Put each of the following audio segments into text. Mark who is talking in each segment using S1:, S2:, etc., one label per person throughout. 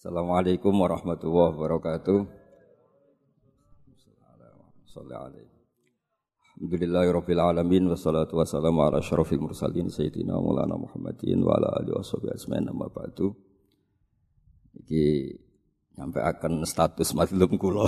S1: Assalamualaikum warahmatullahi wabarakatuh. Alhamdulillahirabbil alamin wassalatu wassalamu ala asyrofil mursalin sayyidina Maulana Muhammadin wa ala alihi washabihi ajmain amma ba'du. Iki nyampe akan status mazlum kula.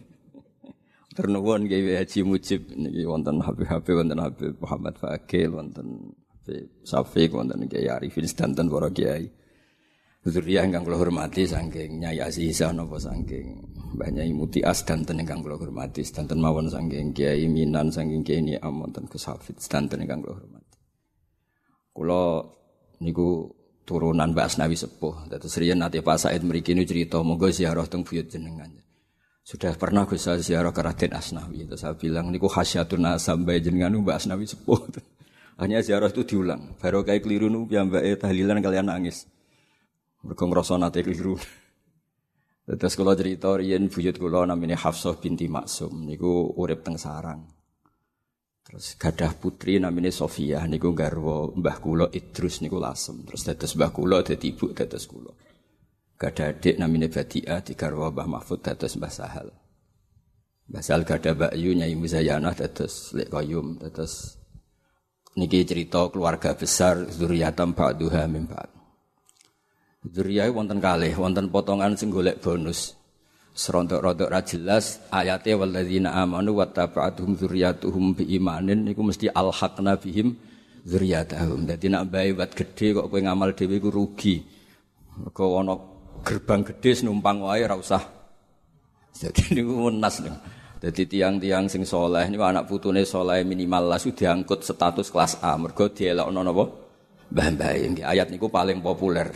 S1: Ternuwun nggih Haji Mujib niki wonten Habib wonten Habib Muhammad Fakil wonten Habib Syafiq wonten Kiai Arifin sedanten para kiai. Zuriyah ingkang kula hormati saking Nyai Azizah napa saking Mbah Nyai Mutias danten ingkang kula hormati sedanten mawon saking Kiai Minan saking Kiai Niam wonten Gus Hafid sedanten ingkang kula hormati. Kula niku turunan Mbah Asnawi sepuh. Dados riyen nate Pak Said mriki niku crita monggo ziarah teng buyut jenengan. Sudah pernah Gus ziarah ke Raden Asnawi. Terus saya bilang niku khasyatun sampai jenengan Mbah Asnawi sepuh. Hanya ziarah itu diulang. Baru kayak keliru niku piyambake tahlilan kalian nangis. Mergo ngrasa nate keliru. Terus kula cerita riyen buyut kula namine Hafsah binti Maksum niku urip teng sarang. Terus gadah putri namine Sofiyah niku garwa mbah kula Idrus niku lasem. Terus dados mbah kula dadi ibu dados kula. Gadah adik namine Badiah digarwa Mbah Mahfud dados Mbah Sahal. Mbah Sahal gadah Mbakyu Nyai Muzayanah dados Lek Qayyum dados niki cerita keluarga besar zuriyatam ba'duha min ba'd. Zuriyah wonten kalih, wonten potongan sing golek bonus. Serontok-rontok ra jelas ayate walladzina amanu wattaba'atuhum dzurriyyatuhum biimanin niku mesti alhaqna bihim dzurriyyatahum. Dadi nek bae wat gedhe kok kowe ngamal dhewe iku rugi. Mergo ana gerbang gedhe numpang wae ora usah. Dadi niku menas niku. Dadi tiang-tiang sing saleh niku anak putune saleh minimal lasu diangkut status kelas A mergo dielokno napa? Mbah-mbah. Ayat niku paling populer.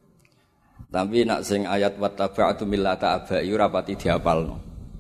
S1: Tapi nak sing ayat wattaba'tu millata abai ora pati dihafalno.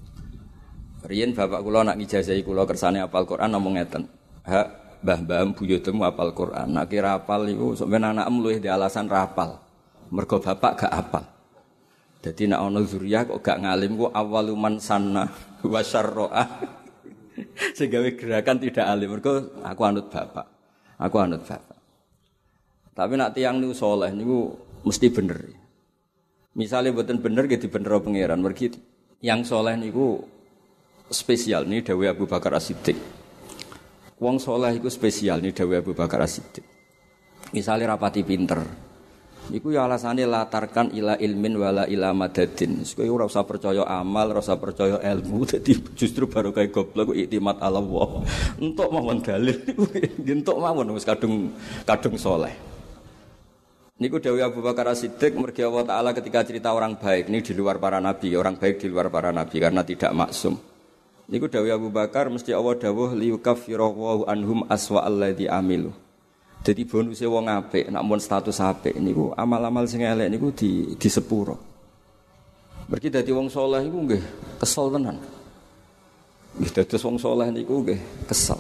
S1: Riyen bapak kula nak ngijazahi kula kersane hafal Quran ngomong ngeten. Hak mbah-mbah buyutmu hafal Quran. Nak kira hafal iku sampeyan anakmu luwih di alasan ra hafal. Mergo bapak gak hafal. Dadi nak ana zuriyah kok gak ngalim ku awaluman sanna wa syarra. Sing gawe gerakan tidak alim mergo aku anut bapak. Aku anut bapak. Tapi nak tiyang niku saleh niku mesti bener. Misalnya mboten bener nggih dibenero pangeran. Mergi yang saleh niku spesial nih dawuh Abu Bakar As-Siddiq. Wong saleh iku spesial nih dawuh Abu Bakar As-Siddiq. Misalnya rapati pinter. Iku ya alasane latarkan ila ilmin wala ila madadin. Kowe ora usah percaya amal, ora usah percaya ilmu. Dadi justru baru kaya goblok iktimat ala Allah. Entuk mawon dalil niku entuk mawon wis kadung saleh. Niku dawuh Abu Bakar As-Siddiq mergi Allah Ta'ala ketika cerita orang baik. Ini di luar para nabi, orang baik di luar para nabi karena tidak maksum. Niku dawuh Abu Bakar mesti Allah dawuh liyukaffiru anhum aswa alladzi amilu. Jadi bonuse wong apik, nak mun status apik niku amal-amal sing elek niku di sepuro. Mergi dadi wong saleh iku nggih kesel tenan. Nggih dados wong saleh niku nggih kesel.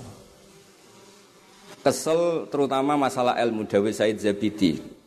S1: Kesel terutama masalah ilmu dawuh Said Zabidi.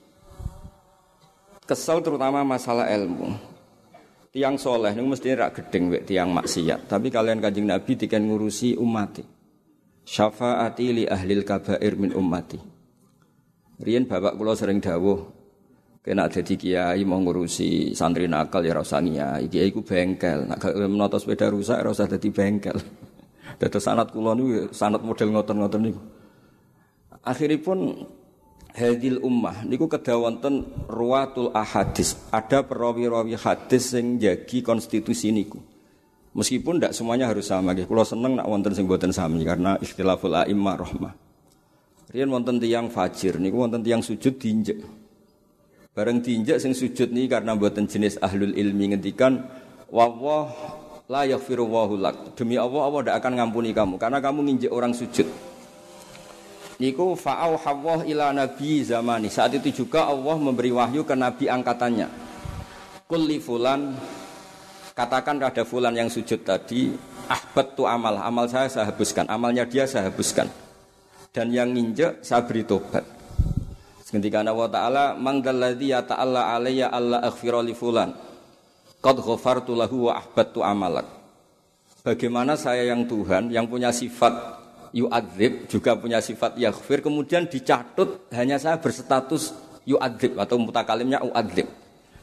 S1: Kesel terutama masalah ilmu. Tiang soleh ini mesti rak gedeng wek tiang maksiat. Tapi kalian Kanjeng Nabi diken ngurusi ummati. Syafaati li ahlil kabair min ummati. Riyen bapak kula sering dawuh, kena dadi kiai mau ngurusi santri nakal ya ora usah kiai. Kiai iku bengkel. Nek gak menata sepeda rusak ora usah dadi bengkel. Dados sanad kula niku sanad model ngoten-ngoten niku. Akhiripun hadil ummah niku kedah wonten ruwatul ahadis. Ada perawi-rawi hadis sing njagi konstitusi niku. Meskipun ndak semuanya harus sama nggih. Kula seneng nek wonten sing mboten sami karena ikhtilaful a'immah rahmah. Riyen wonten tiyang fajir niku wonten tiyang sujud diinjek. Bareng diinjek sing sujud niki karena mboten jenis ahlul ilmi ngendikan wallah la yaghfiru wallahu lak. Demi Allah Allah ndak akan ngampuni kamu karena kamu nginjek orang sujud. Niku fa'au hawwah ila nabi zamani. Saat itu juga Allah memberi wahyu ke nabi angkatannya. Kulli fulan, katakan pada fulan yang sujud tadi, ahbattu amal saya hapuskan, amalnya dia saya hapuskan. Dan yang nginjek saya beri tobat. Ketika Allah Ta'ala mangdalladzi yata'alla alayya alla aghfira li fulan. Qad ghafartu lahu wa ahbattu amalak. Bagaimana saya yang Tuhan yang punya sifat yu'adzib juga punya sifat yaghfir kemudian dicatut hanya saya berstatus yu'adzib atau mutakalimnya u'adzib.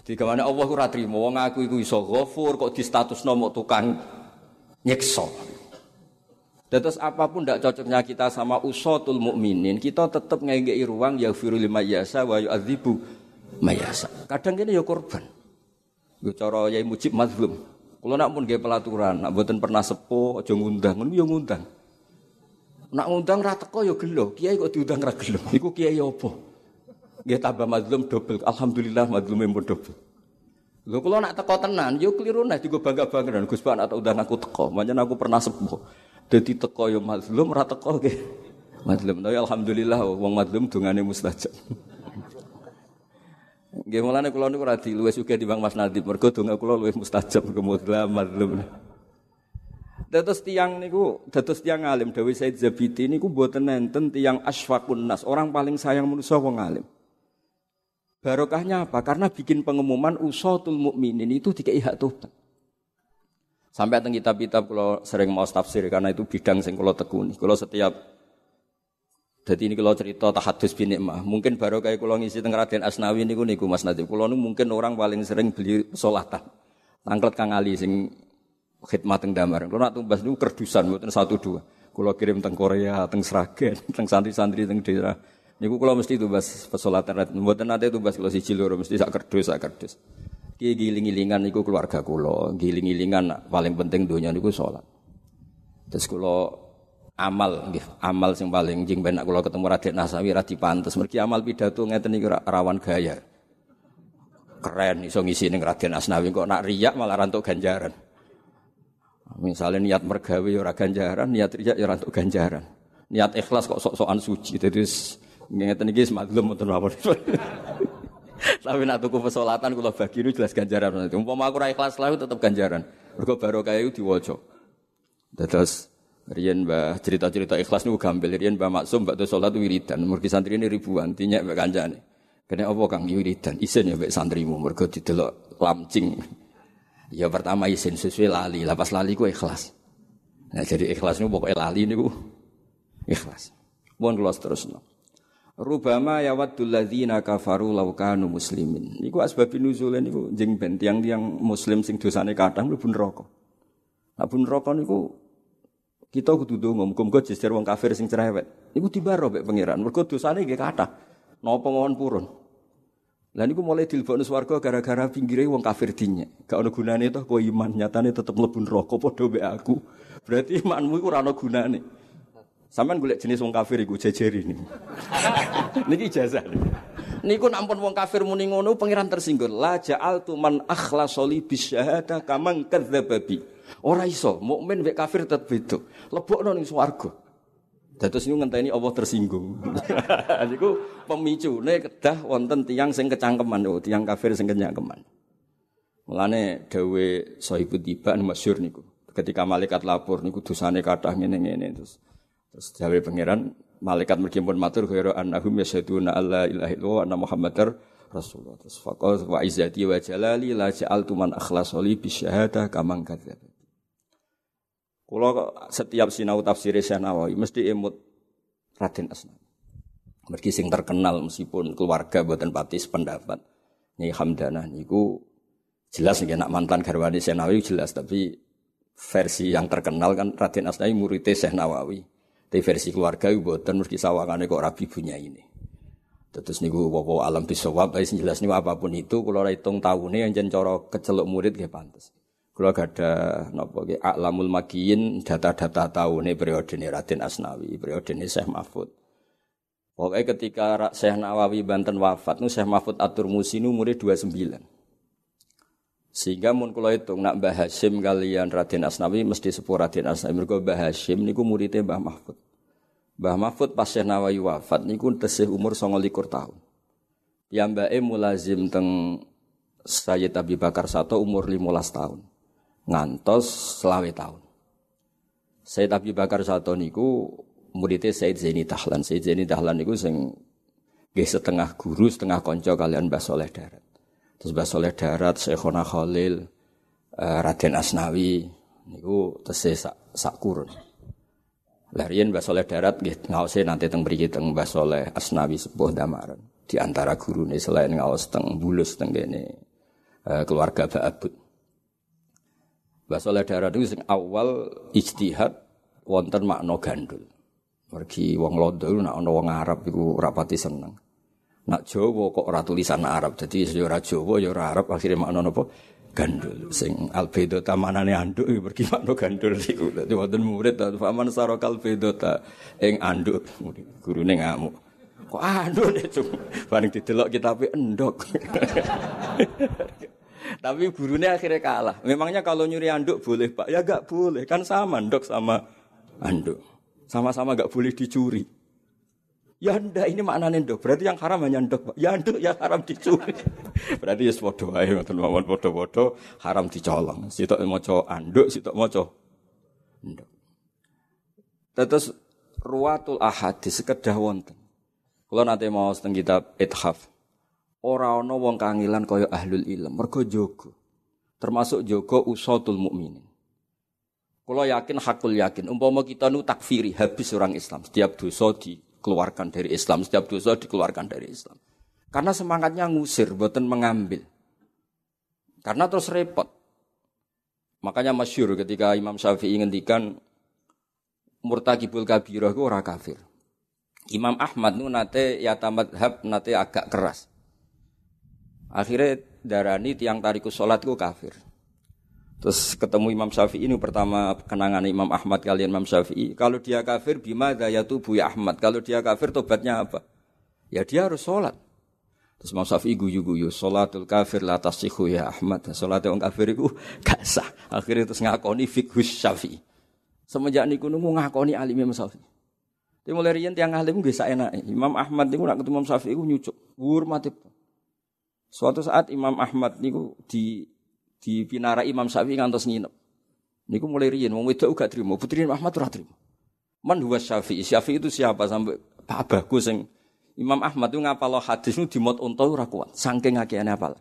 S1: Digamane Allah ku ora trimo wong aku iku iso ghafur kok distatusno mok tukang nyiksa. Terus apapun tidak cocoknya kita sama usatul mukminin, kita tetap ngekei ruang yaghfiru liman yasha wa yu'adzibu mayasa. Kadang kene ya korban. Yo cara Yai Mujib mazlum. Kula nak pun nggih pelaturan, nak mboten pernah sepuh aja ngundang, ngono yo ngundang. Nak ngundang ra teko yo gelo, kiai kok diundang ra gelo. Iku kiai apa? Nggih tambah mazlum dobel. Alhamdulillah mazlume pun dobel. Lho kula nak teko tenan yo kliru nek digo bangga-banggaan Gus Pak nak undang aku teko, pancen aku pernah sepuh. Dadi teko yo mazlum ra teko nggih. Mazlum tapi alhamdulillah wong mazlum dungane mustajab. Nggih mulane kula niku ora diluwih sugih timbang Mas Nadib, mergo donga kula luwih mustajab kemudian mazlum. Dados tiyang niku, dados tiyang alim dawuh Said Zabidi niku mboten nenten tiyang asfaqun nas, orang paling sayang manusa wong alim. Barokahnya apa? Karena bikin pengumuman usatul mukminin itu dikei hak tobat. Sampai teng kitab-kitab kula sering maos tafsir karena itu bidang sing kula tekuni. Kula setiap dadi ini kalau cerita tahadus bin nikmah, mungkin baru kayak kalau ngisi teng Raden Asnawi niku Mas Nadif. Kula niku mungkin orang paling sering beli pesolatan. Tangklet Kang Ali sing khidmat teng Damar. Kula nak tumbas niku kerdusan mboten 1-2. Kula kirim teng Korea, teng Sragen, teng santri-santri teng daerah. Niku kula mesti tumbas pesolatan. Mboten nate tumbas kula siji loro mesti sak kerdus. Ki giling-gilingan niku keluarga kula, giling-gilingan paling penting donya niku salat. Terus kula amal nggih, amal sing paling jeng ben kula ketemu Raden Nasawi ra dipantes. Mergi amal pidato ngeten iki rawan gaya. Keren iso ngisi ning Raden Asnawi kok nak riyak malah rantuk ganjaran. Misalnya niat mergawe ya ora ganjaran, niat riyak ya ora rantuk ganjaran. Niat ikhlas kok sok-sokan suci. Dadi ngeten iki mazlum mboten apa. Tapi nak tuku pesolatan kula bagi nu jelas ganjaran. Umpama aku ra ikhlas lae tetep ganjaran. Mergo barokah iku diwaca. Dados riyen Mbah cerita-cerita ikhlas niku gampil. Riyen Mbah Maksum bakda salat wiridan, mergi santrine ribuan, tinyek mek kancane. Kene apa Kang wiridan? Isin ya mek santrimu mergo didelok lamcing. Ya pertama isin sesuai lali, lapas lali ku ikhlas. Nah jadi ikhlas niku pokoke lali niku ikhlas. Mun kula terusno. Rubama yawaddul ladzina kafaru law kanu muslimin. Niku asbabun nuzule niku jeng ben tiyang-tiyang muslim sing dosane kathah mlebu neraka. Nah pun neraka niku kita kudu ndonga muga-muga jejer wong kafir sing cerewet. Niku dibaro mek pangeran. Mergo dosane nggih kathah. Napa mawon purun. Lah niku mulai dilebokno swarga gara-gara pinggire wong kafir dinyek. Gak ono gunane toh kowe iman, nyatane tetep mlebu neraka padha mek aku. Berarti imanmu iku ora ono gunane. Sampeyan golek jenis wong kafir iku jejeri niku. Niki ijazah. Niku nampun wong kafir muni ngono pangeran tersinggung. La ja'altu man akhlasa li bisyahada kaman kadzdzababi. Ora iso, mukmin mek kafir tetep beda. Lebokno ning swarga. Dados niku ngenteni Allah tersinggung. Niku pemicune kedah wonten tiyang sing kecangkeman, tiyang kafir sing kecangkeman. Mulane dawuh Sahibul Tiban masyhur niku. Ketika malaikat lapor niku dosane kathah ngene-ngene terus dawuh pangeran malaikat mergi pun matur ghairu annahum yasyhaduna alla ilaha illallah wa anna muhammadar rasulullah. Terus faqala wa izzati wa jalali la ja'altu man akhlasa li bisyahada kaman kadzdzab. Kula setiap sinau tafsir Syekh Nawawi mesti emut Raden Asnawi. Mergi sing terkenal meskipun keluarga mboten pati sependapat. Nyai Hamdanah niku jelas nggih nak mantan garwane Syekh Nawawi jelas, tapi versi yang terkenal kan Raden Asnawi murid Syekh Nawawi. Tapi versi keluarga mboten mesti sawangane kok rabi bunyaine. Terus niku apa alam bisawab sing jelas niku apapun itu kula hitung taune anjen cara keceluk murid nggih pantes. Kula gadah napa nggih A'lamul Makiyin data-data taune periodene Raden Asnawi, periodene Syekh Mahfud. Pokoke ketika Syekh Nawawi Banten wafat nu Syekh Mahfud At-Turmusi nu umure 29. Sehingga mun kula hitung nak Mbah Hasyim kalian Raden Asnawi mesti sepuh Raden Asnawi. Mergo Mbah Hasyim niku muridé Mbah Mahfud. Mbah Mahfud pas Syekh Nawawi wafat niku tesih umur 29 tahun. Piyambake mulazim teng Sayyid Abi Bakar Sato umur 15 tahun. Ngantos 20 tahun. Sayyid Abi Bakar Sato niku muridé Sayyid Zaini Dahlan. Sayyid Zaini Dahlan niku sing nggih setengah guru, setengah kanca kalian Mbah Saleh Darat. Terus Mbah Saleh Darat, Syekhona Khalil, Raden Asnawi niku tesih sak kurun. Lah riyen Mbah Saleh Darat nggih ngaose nanti teng mriki teng Mbah Saleh Asnawi sepuh Damaran. Di antara gurune selain ngaos teng Bulus teng kene keluarga Ba'abud. Mbah Saleh Daran niku sing awal ijtihad wonten makna gandul. Mergi wong Londo nek ana wong Arab iku ora pati seneng. Nak Jawa kok ora tulisan Arab. Dadi ya ora Jawa ya ora Arab akhire makna napa? Gandul. Sing albedota manane anduk mergi makna gandul iku. Dadi wonten murid faman sarakal bedota ing anduk. Gurune ngamuk. Kok anduk itu? Bareng didelok kitabe endok. Tapi gurunya akhirnya kalah. Memangnya kalau nyuri anduk boleh Pak? Ya enggak boleh. Kan sama anduk sama anduk. Sama-sama enggak boleh dicuri. Ya ndak ini maknanya ndok. Berarti yang haram hanya ndok Pak. Ya anduk yang haram dicuri. Berarti ya padha wae ngoten mawon padha-padha haram dicolong. Sitok maca anduk, sitok maca ndok. Terus ruwatul ahadits sekedah wonten. Kula nate maos teng kitab Ithaf. Ora ana wong kangilan kaya ahlul ilm, mergo jaga. Termasuk jaga usatul mukminin. Kula yakin hakul yakin, umpama kita nu takfiri habis orang Islam, setiap dosa dikeluarkan dari Islam, setiap dosa dikeluarkan dari Islam. Karena semangatnya ngusir, boten mengambil. Karena terus repot. Makanya masyhur ketika Imam Syafi'i ngendikan murtakibul kabirah iku ora kafir. Imam Ahmad nu nate ya tamadhab nate agak keras. Akhirnya darani tiang tarikus sholat itu kafir. Terus ketemu Imam Syafi'i ini pertama kenangan Imam Ahmad kalian Imam Syafi'i. Kalau dia kafir bima dayatubu ya Ahmad. Kalau dia kafir tobatnya apa? Ya dia harus sholat. Terus Imam Syafi'i guyu-guyu. Sholatul kafir la tasihhu ya Ahmad. Sholatnya orang kafir itu gak sah. Akhirnya terus ngakoni fiqhus Syafi'i. Semenjak niku nunggu ngakoni alim Imam Syafi'i. Tapi mulai riyen tiang alim gak enak. Imam Ahmad niku nak ketemu Imam Syafi'i ku nyucuk. Hormati. Suatu saat Imam Ahmad niku di pinara Imam Syafi'i ngantos nginep. Niku mulai riyen wong wedok gak trimo, putri Imam Ahmad ora trimo. Man huwa Syafi'i. Syafi'i itu siapa sampai Pak Bagus sing Imam Ahmad itu ngapal hadis niku dimot unta ora kuat, saking akehane hafal.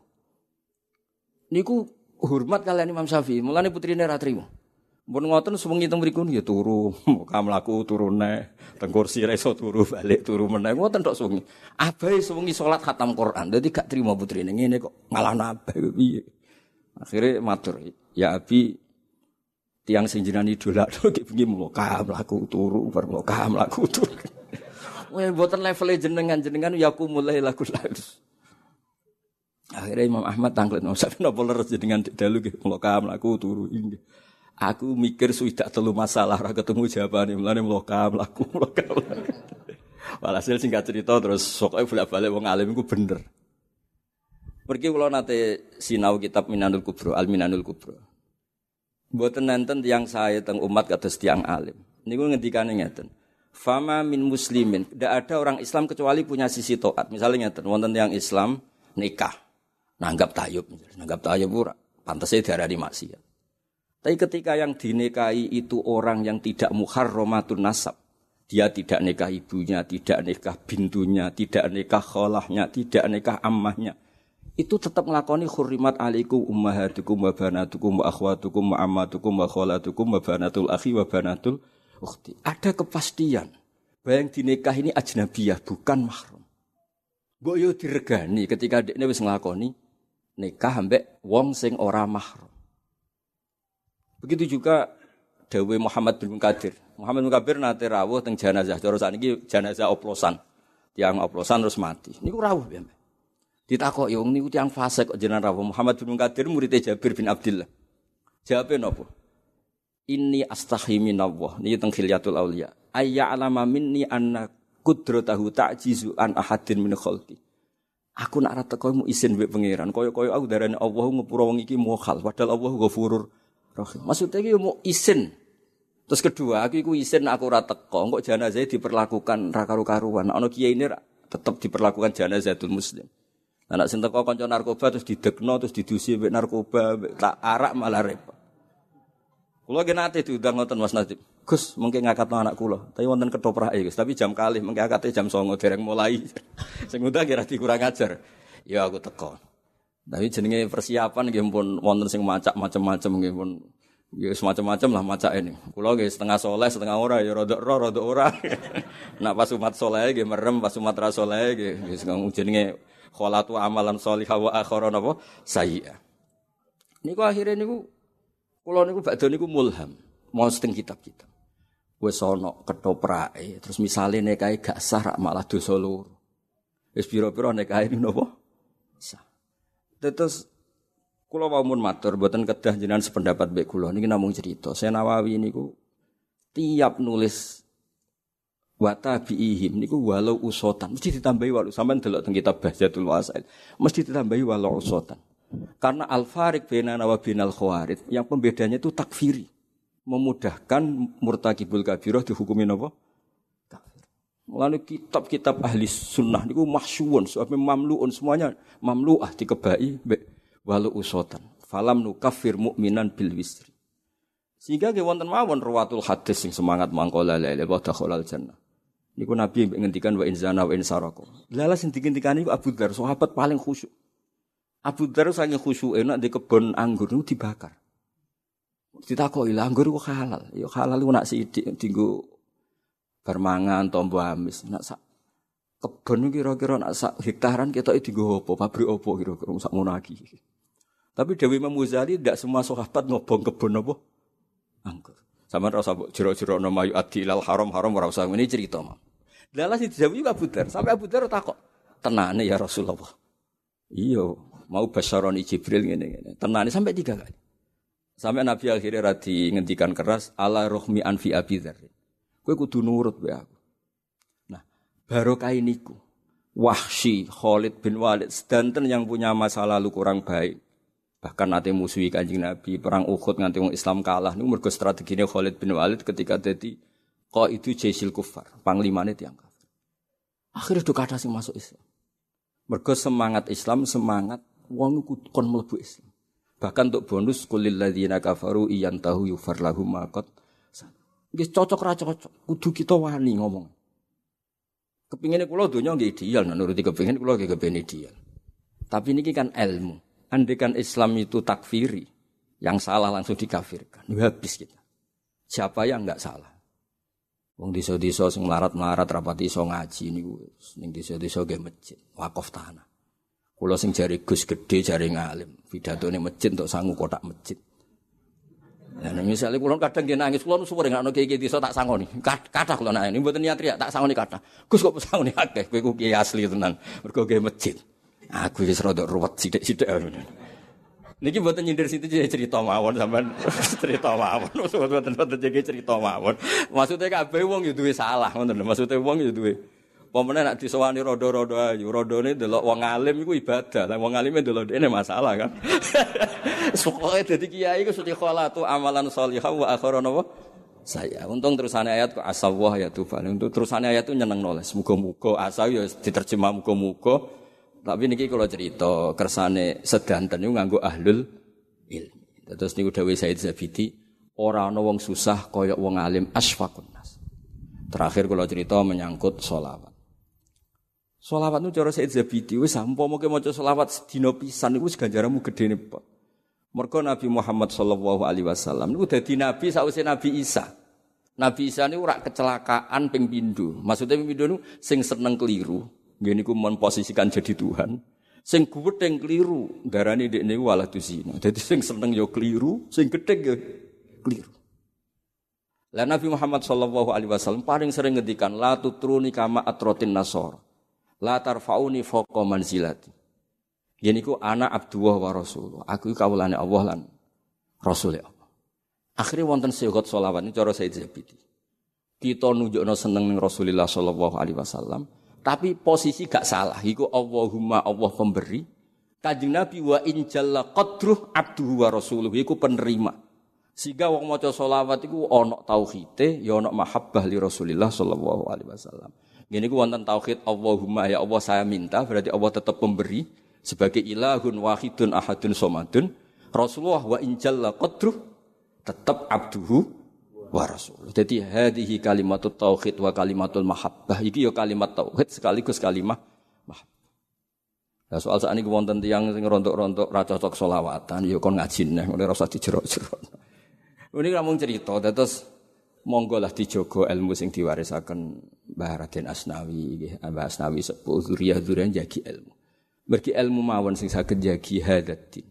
S1: Niku hormat kalian Imam Syafi'i, mulane putrine ora trimo. Mun ngoten sewengi teng mriku ya turu, muka mlaku turune, teng kursi ra iso turu balik turu meneh. Ngoten tok sewengi. Abahe sewengi salat khatam Quran. Dadi gak trimo putrine ngene kok ngalahno abah piye. Akhire matur, "Ya Abi, tiang sing jenengan idolakno iki bengi muka mlaku turu, bar muka mlaku turu." Wah, mboten level jenengan ya aku mulai lagu lagus. Akhirnya Imam Ahmad tanglet, "Sampe napa leres jenengan dalu nggih muka mlaku turu inggih." Aku mikir sudah telu masalah ora ketemu jawabane mulane mlaku. Walhasil singkat cerita terus pokoke bolak-balik wong alim iku bener. Pergi kula nate sinau kitab Minanul Kubra, Al-Minanul Kubra. Mboten nenten tiyang sae teng umat kados tiyang alim. Niku ngendikane ngeten. Fama min muslimin, tidak ada orang Islam kecuali punya sisi taat. Misalnya ngeten, wonten tiyang Islam nikah, nanggap tayub ora pantese diarani maksiat. Tapi ketika yang dinikahi itu orang yang tidak muharramatun nasab, dia tidak nikah ibunya, tidak nikah bintunya, tidak nikah kholahnya, tidak nikah ammahnya, itu tetap nglakoni hurrimat alaikum ummahatukum wa banatukum wa akhwatukum wa ammatukum wa kholatukum wa banatul akhi wa banatul ukhti. Ada kepastian bahwa yang dinikahi ini ajnabiyah, bukan mahram. Mbok yo diregani ketika dekne wis nglakoni nikah ambek wong sing ora mahram. Begitu juga dawuh Muhammad bin Munkadir. Muhammad bin Munkadir nate rawuh teng jenazah. Cara sakniki jenazah oplosan. Tiang oplosan terus mati. Niku rawuh piye? Ditakoki wong niku tiang fasik kok jenengan rawuh. Muhammad bin Munkadir murid Jabir bin Abdullah. Jawabe napa? Inni astahi minallah. Niki teng Khilyatul Auliya. Ayya alama minni anna qudratahu ta'jizu an ahadin min khalqi. Aku nak ra teko mu izin mbek pangeran. Kaya-kaya aku darane Allah ngepura wong iki mukhal. Padahal Allah Ghafurur Rahim. Maksudnya iki mau izin. Terus kedua, aku iku izin aku ora teko, kok jenazah diperlakukan ra karu-karuan. Ana kiai ini tetep diperlakukan jenazatul muslim. Anak sing teko kanca narkoba terus didekno terus didusi mbek narkoba, mbek tak arak malah repot. Kula ge nate diundang ngoten Mas Nadib. Gus, mengke ngakatno anak kula. Tapi wonten ketoprake, Gus. Tapi jam kalih mengke akate jam 09.00 dereng mulai. Sing undang kira dikurang ajar. Ya aku teko. Tapi jenenge persiapan nggih pun wonten sing macam-macam nggih pun ya semacam-macam lah macake ini. Kula nggih setengah saleh, setengah ora ya rada ora. Nak pas umat saleh nggih merem, pas umat ra saleh nggih jenenge kholatu amalan sholihah wa akhara napa sayyi'ah. Niku akhire niku kula niku badhe niku mulham, mau teng kitab-kitab. Wis ana ketoprake, terus misale nekae gak sah rak malah dosa loro. Wis pira-pira nekae niku napa? Sah. Terus kula wau mun matur mboten kedah jenengan sependapat mbek kula niki namung cerita. Saya Nawawi niku tiap nulis wa tabi'ihim niku walau usotan mesti ditambahi walau sampean delok teng kitab Bahjatul Wasail mesti ditambahi walau usotan karena al-fariq bainana wa bainal khawarij yang pembedanya itu takfiri memudahkan murtakibul kabirah dihukumi napa kafir. Mulane kitab-kitab ahli sunnah niku mahsyuun sampai mamluun semuanya mamluah dikebai walau usotan falam nukaffir mu'minan bil wisri sehingga ge wonten mawon ruwatul hadis sing semangat mangkola la ilaha illallah dakhalal jannah. Niku Nabi ngendikan wa in zana wa in saraka. Lha sing dikentikane iku Abu Dzar, sahabat paling khusyuk. Abu Dzar saking khusyuke nek di kebon anggur niku dibakar. Ditakoki, "Lah anggur kok halal?" Ya halal ku nak sithik dienggo bar mangan tombo amis. Nak sak kebon kira-kira nak sak hektaran ketoke dienggo apa? Pabrik apa kira-kira sak ngono iki. Tapi Dewi Imam Ghazali tidak semua sahabat ngobong kebon apa? Anggur. Sama rasa jero-jero nama yu adi ilal haram ora usah ini cerita mah. Dalah si dijawab juga Abu Dzar, sampai Abu Dzar takok. Tenane ya Rasulullah. Iya, mau basyaroni Jibril ngene-ngene. Tenane sampai 3 kali. Sampai Nabi akhirnya radi ngendikan keras ala rohmi anfi Abi Dzar. Kowe kudu nurut wae aku. Nah, barokah niku. Wahsy Khalid bin Walid sedanten yang punya masa lalu kurang baik. Bahkan nate musuhi Kanjeng Nabi, perang Uhud nganti wong Islam kalah niku mergo strategine Khalid bin Walid ketika dadi qaidu jaisil kufar, panglimane tiyang kafir. Akhire do kathah sing masuk Islam. Mergo semangat Islam, semangat wong kudu kon mlebu Islam. Bahkan untuk bonus kulil ladzina kafaru iyantahu yufar lahum maqat. Nggih cocok ra cocok, kudu kita wani ngomong. Kepingine kula donya nggih ideal, nuruti kepingin kula nggih kepen ideal. Tapi niki kan ilmu. Andaikan Islam itu takfiri, yang salah langsung dikafirkan. Habis kita. Siapa yang enggak salah? Wong desa-desa sing melarat-melarat rapati iso ngaji niku ning desa-desa nggih masjid, wakaf tanah. Kula sing jare Gus gedhe jare ngalim, pidatone masjid entuk sangu kotak masjid. Nah, misalnya kula kadang nggih nangis, kula suwere ngakno kiai desa tak sangoni. Kathah kula nangis, mboten niat riya tak sangoni kathah. Gus kok sangoni akeh, kowe ku kiai asli tenan. Mergo nggih masjid. Aku wis rada ruwet sithik-sithik. Niki mboten nyindir situ cerita mawon sampean cerita mawon. Mboten jege cerita mawon. Maksude kabeh wong yo duwe salah, ngoten lho. Maksude wong yo duwe. Pemene nek disowani rada-rada ayu, radane delok wong alim iku ibadah. Lah wong alime delok dene masalah kan. Pokoke dadi kiai iku suci kholatu amalan shalihah wa akharana wa saya. Untung terusane ayat kok asawah ya tufan. Untuk terusane ayat itu nyenengno. Muga-muga asa yo diterjemah muga-muga. Tapi niki kalau cerita kersane sedanten niku nganggo ahlul ilmi. Terus niku dawuh Said Zabidi, ora ana wong susah kaya wong alim asfaqun nas. Terakhir kalau cerita menyangkut sholawat. Sholawat niku cara Said Zabidi wis umpama maca sholawat sedina pisan niku wis ganjaranmu gedene pot. Mergo Nabi Muhammad sallallahu alaihi wasallam niku dadi nabi sawise Nabi Isa. Nabi Isa niku ora kecelakaan ping pindho. Maksudnya ping pindho niku sing seneng keliru. Ngene iku memposisikan jadi Tuhan. Sing getheng keliru, darane ndekne walah dusina. Dadi sing seneng ya keliru, sing getheng ya keliru. Lah Nabi Muhammad sallallahu alaihi wasallam paling sering ngendikan la tutruni kama atrotin nasor. La tarfauni fawqa manzilati. Yen iku ana Abdullah wa Rasul. Aku kawulane Allah lan Rasul Allah. Akhire wonten syarat selawat ini cara Said Zabidi. Kita nunjukno seneng ning Rasulullah sallallahu alaihi wasallam. Tapi posisi gak salah, iku Allahumma Allah pemberi. Kanjeng Nabi wa in jalla qadruh abduhu wa rasuluh iku penerima. Sehingga wong maca selawat iku ana tauhide, ya ana mahabbah li Rasulillah sallallahu alaihi wasallam. Ngene iku wonten tauhid Allahumma ya Allah saya minta, berarti Allah tetap pemberi sebagai ilahun wahidun ahadun somadun. Rasulullah wa in jalla qadruh tetap abduhu wa rasul. Jadi hadhihi kalimatut tauhid wa kalimatul mahabbah. Iki ya kalimat tauhid sekaligus kalimat mahabbah. Lah soal sakniki wonten tiyang sing rontok-rontok ra cocok selawatan ya kon ngaji neh ngene ora usah dijero-jero. Ini namung cerita terus monggo lah dijogo ilmu sing diwarisaken Mbah Raden Asnawi nggih. Mbah Asnawi sepuh zuriyah-zuriyah jagi ilmu. Mergi ilmu mawon sing saged jagi hadatin.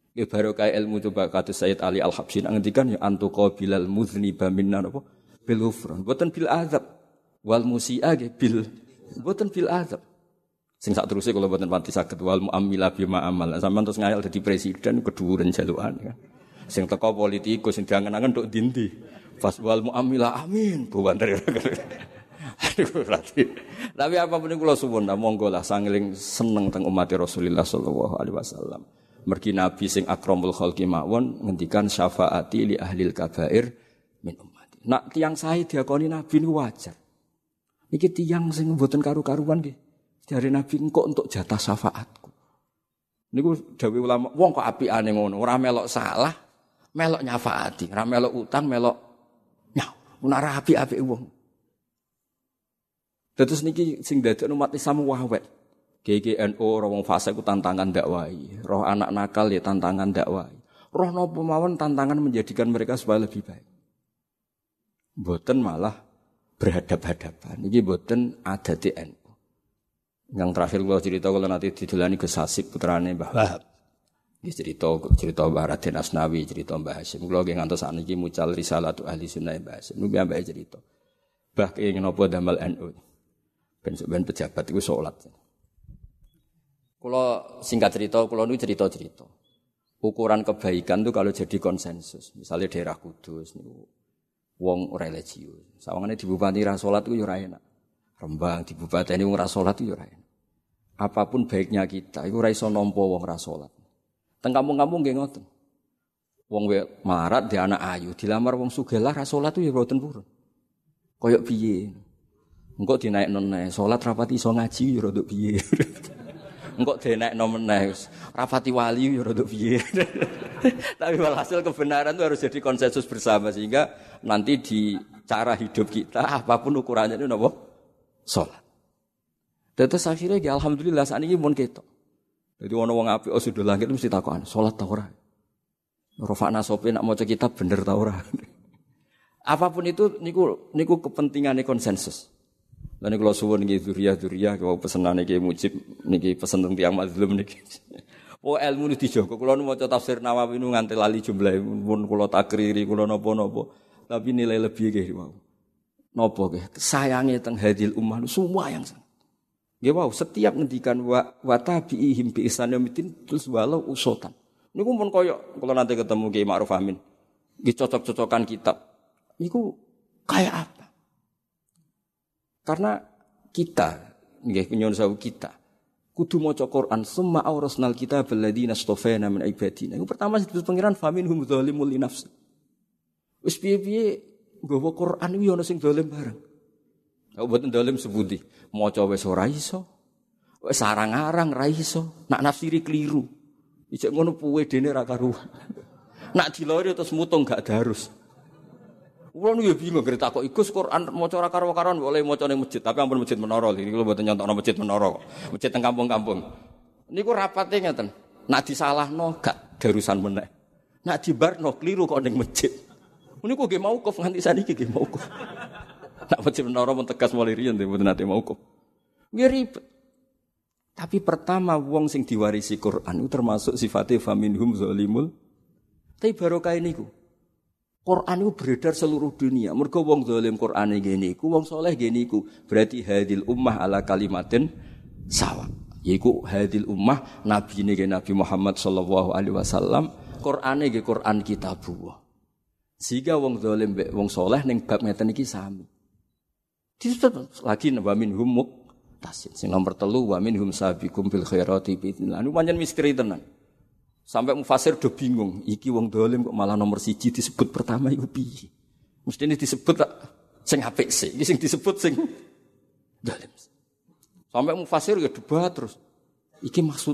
S1: Ya barokah ilmu coba kata Sayyid Ali Al-Habsyi ngendikan ya antuqa bilal muzniba minna apa bil ghufran boten bil azab wal musi'a bil boten bil azab. Sing sak terusé kula boten pati saged wal muamila bima amal. Sampeyan terus ngayal dadi presiden keduren jalukan kan. Sing teko politikus sing diangen-angen tok ndi. Pas wal muamila amin buwanter. Aduh berarti. Tapi apapun kula suwun monggo lah sangeling seneng teng umat Rasulullah sallallahu alaihi wasallam. Mergi Nabi sing akramul khalqi mawon ngendikan syafaati li ahlil kabair min ummati. Nak tiyang sae diakoni Nabi niku wajar. Niki tiyang sing mboten karu-karuan nggih. Jare Nabi engko untuk jatah syafaatku. Niku dawuh ulama, wong kok apikane ngono, ora melok salah, melok nyafaati, ora melok utang, melok nyau. Ora apik-apik wong. Terus niki sing dadekno umat Islam wawet. GGNU roh wong fase ku tantangan dakwai, roh anak nakal ya tantangan dakwai. Roh napa mawon tantangan menjadikan mereka supaya lebih baik. Mboten malah berhadap-hadapan. Niki mboten adate NU. Yang terakhir kula cerita kula nanti didolani Gus Hasib putrane Mbah Wahab. Nggih cerita Mbah Raden Asnawi, cerita Mbah Hasyim. Kula nggih ngantos sakniki mucal risalatu ahli sunnah Mbah Hasyim. Niku ambek cerita. Mbah kenging napa damel NU. Ben pejabat iku salat. Kula singkat cerita, kula niku cerita-cerita. Ukuran kebaikan itu kalau jadi konsensus. Misalnya daerah Kudus niku wong religius. Sawangane di bupati ra salat iku yo ora enak. Rembang di bupati ini wong ra salat iku yo ora enak. Apapun baiknya kita iku ora iso nampa wong ra salat. Teng kampung-kampung nggih ngoten. Wong marat di anak ayu dilamar wong sugih lah ra salat iku yo mboten purun. Kaya piye? Engko dinaikno neh salat rapati iso ngaji yo rada piye. Engko dinaikno meneh rapati wali yo rada piye. Tapi walhasil kebenaran itu harus jadi konsensus bersama sehingga nanti di cara hidup kita apapun ukurannya itu napa? Salat. Terus akhirnya ya alhamdulillah sakniki mun ketok. Dadi ana wong apik sudah langit mesti takokan, salat ta ora? Rofa'na sope nak maca kitab bener ta ora? Apapun itu niku kepentingane konsensus. Lan kula suwun nggih dzuriyah kula pesenane Ki Mujib niki pesen teng tiyang mazlum niki. Oh ilmu niki dijogo kula nu maca tafsir Nawawi nu nganti lali jumlahe pun kula takriri kula napa-napa. Tapi nilai lebih nggih wau. Napa nggih sayange teng hadil ummah semua yang sangat. Nggih wau setiap ngendikan wa tabi'ihim bi ihsaniddin terus walau usotan. Niku pun koyo kula nanti ketemu Ki Ma'ruf Amin. Nggih cocok-cocokan kitab. Niku kayak apa? Karena kita, nggih nyuwun sewu kita, kudu maca Quran summa aurasnal kitab alladziina astafayna min ibadina. Iku pertama disebut pangeran faminhum dzalimul li nafsi. Wis piye-piye nggawa Quran iki ana sing zalim bareng. Kok mboten zalim sepundi? Maca wis ora iso. Wis arang-arang ra iso. Nak nafsiri keliru. Ijek ngono puwe dene ra karuan. Nak dilori terus mutung gak darus. Kulo nu ya bingung gerek takok Gus Quran maca ora karo-karoan boleh maca ning masjid, tapi ampun masjid menara iki kulo mboten nyontokno masjid menara kok. Masjid teng kampung-kampung. Niku rapate ngeten. Nak disalahno gak darusan meneh. Nak dibarno kliru kok ning masjid. Niku nggih mauquf nganti saniki nggih mauquf. Nak masjid menara mun tegas mulai riyen mboten nate mauquf. Nggih ribet. Tapi pertama wong sing diwarisi Quran itu termasuk sifate faminhum zalimul. Tapi barokah niku. Quran itu beredar seluruh dunia. Mergo wong zalim Quran ngene iku, wong saleh ngene iku. Berarti hadil ummah ala kalimatin sawa. Yaiku hadil ummah nabine Nabi Muhammad sallallahu alaihi wasallam, Qur'ane nggih Qur'an kitabullah. Sehingga wong zalim mbek wong saleh ning bab ngeten iki sami. Disebut lagi wa minhum muqtasid. Sing nomor 3 wa minhum sabiqum bil khairati bi idznillah. Niku pancen misteri tenan. Sampai mufasir do bingung, iki wong dolim kok malah nomor 1 disebut pertama iku piye? Mestine disebut sing apik sih, iki sing disebut sing dolim. Sampai mufasir ya debat terus. Iki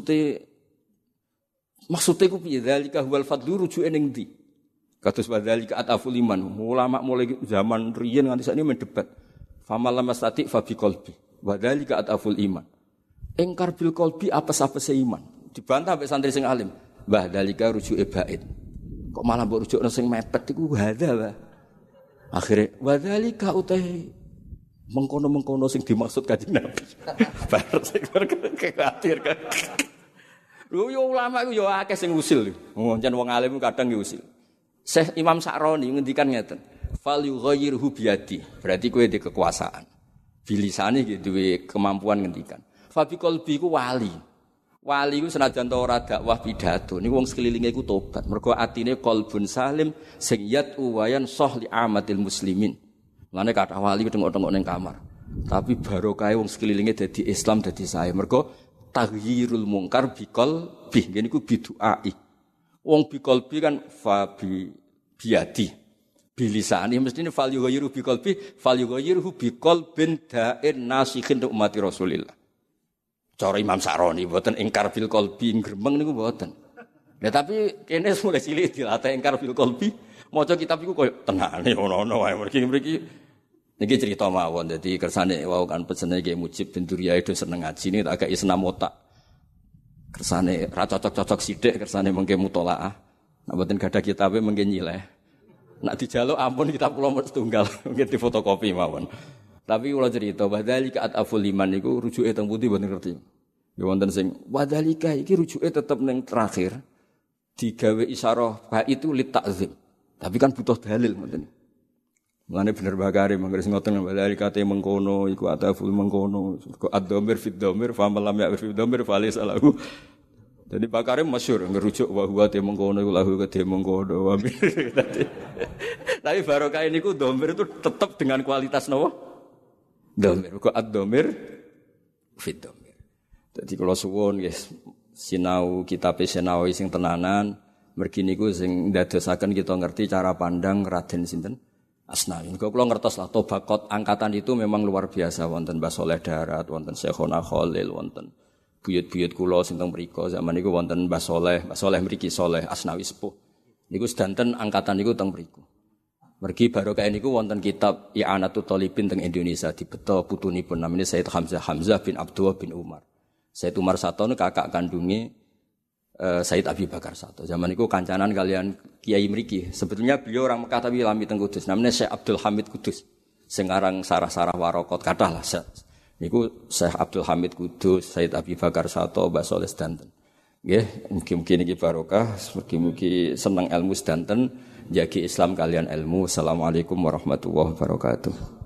S1: maksude ku piye? Zalika huwal fadlu rujuke ning ndi? Kados wadzalika ataful iman. Ulama mulai zaman riyen nganti sakniki men debat. Famal lamastati fa biqalbi. Wadzalika ataful iman. Engkar bil qalbi apes-apese iman. Dibantah mbek santri sing alim. Mbah dalika rujuke bait. Kok malah mbok rujukno sing mepet iku hadza, Mbah. Akhire wadzalika utahe mengkono-mengkono sing dimaksud Kanjeng Nabi. Bar sing khawatir kan. Lho yo ulama iku yo akeh sing usil. Jan wong alim kadang yo usil. Syekh Imam Sa'roni ngendikan ngeten. Fal yughayyirhu biyadi. Berarti kowe di kekuasaan. Bilisane iki duwe kemampuan ngendikan. Fa bi qalbi ku wali. Wali ku senajan ta ora dakwah pidato. Niku wong sekelilinge iku tobat. Mergo atine qalbun salim sing yatu wayan soh li amatil muslimin. Lane kathah wali tengok-tengok ning kamar. Tapi barokah wong sekelilinge dadi Islam dadi sae. Mergo taghyirul mungkar bikol bih ngene iku biduai. Wong bikol bi kan fa biadi. Bilisani mestine fal yughayyiru bikol bi fal yughayyiru bikol bin da'in nasikhin ummati Rasulillah. Cara Imam Sa'roni mboten ingkar bil qalbi gremeng niku mboten. Ya tapi kene mulai cilik dilatih ingkar bil qalbi. Maca kitab iku koyo tenane ono-ono wae mriki niki cerita mawon. Dadi kersane wau kan pesene Ki Mujib bin Duriyah do seneng ngaji ini tak gak senam otak. Kersane ra cocok-cocok sithik kersane mengke mutolaah. Nek mboten gadah kitabe mengke nyileh. Nek dijaluk ampun kitab kula mung setunggal mungkin difotokopi mawon. Tapi kula cerita badalika ataful liman niku rujuke teng pundi mboten ngerti. Ya wonten sing badalika iki rujuke tetep ning terakhir digawe isyarah fa itu lit ta'zim. Tapi kan butuh dalil ngoten. Mulane bener bakare mangger sing ngoten balari kate mengkono iku ataful mengkono kok ad-dhamir fid dhamir fa malam ya fid dhamir fa laysa lahu. Jadi bakare masyhur ngerujuk wa huwa te mengkono iku lahu kate mengkono. Tapi barokah niku dhamir itu tetap dengan kualitas napa? Dhamir kok ad-dhamir fid dhamir. Dadi kula suwun nggih sinau kitab Senawi sing tenanan mergi niku sing ndadosaken kita ngerti cara pandang Raden sinten Asnawi. Kok kula ngertos lah Tobaqat angkatan itu memang luar biasa wonten Mbah Saleh Darat, wonten Syekhona Khalil, wonten buyut-buyut kula sing teng mriku zaman niku wonten Mbah Saleh mriki Saleh Asnawi sepuh. Niku sedanten angkatan niku teng mriku. Mergi barokah niku wonten kitab I'anatul Thalibin teng Indonesia dibeto putunipun namanya Said Hamzah bin Abdullah bin Umar. Said Umar Sato niku kakak kandunge Said Abi Bakar Sato. Zaman itu kancanan kalian Kiai mriki. Sebetulnya beliau orang Mekah tapi lami teng Kudus. Namanya Syekh Abdul Hamid Kudus. Sing aran sarah-sarah warokot kathah lah. Niku Syekh Abdul Hamid Kudus, Said Abi Bakar Sato, Mbah Saleh sedanten. Nggih, mugi-mugi niki barokah, mugi-mugi seneng ilmu sedanten, jagi Islam kalian ilmu. Assalamualaikum warahmatullahi wabarakatuh.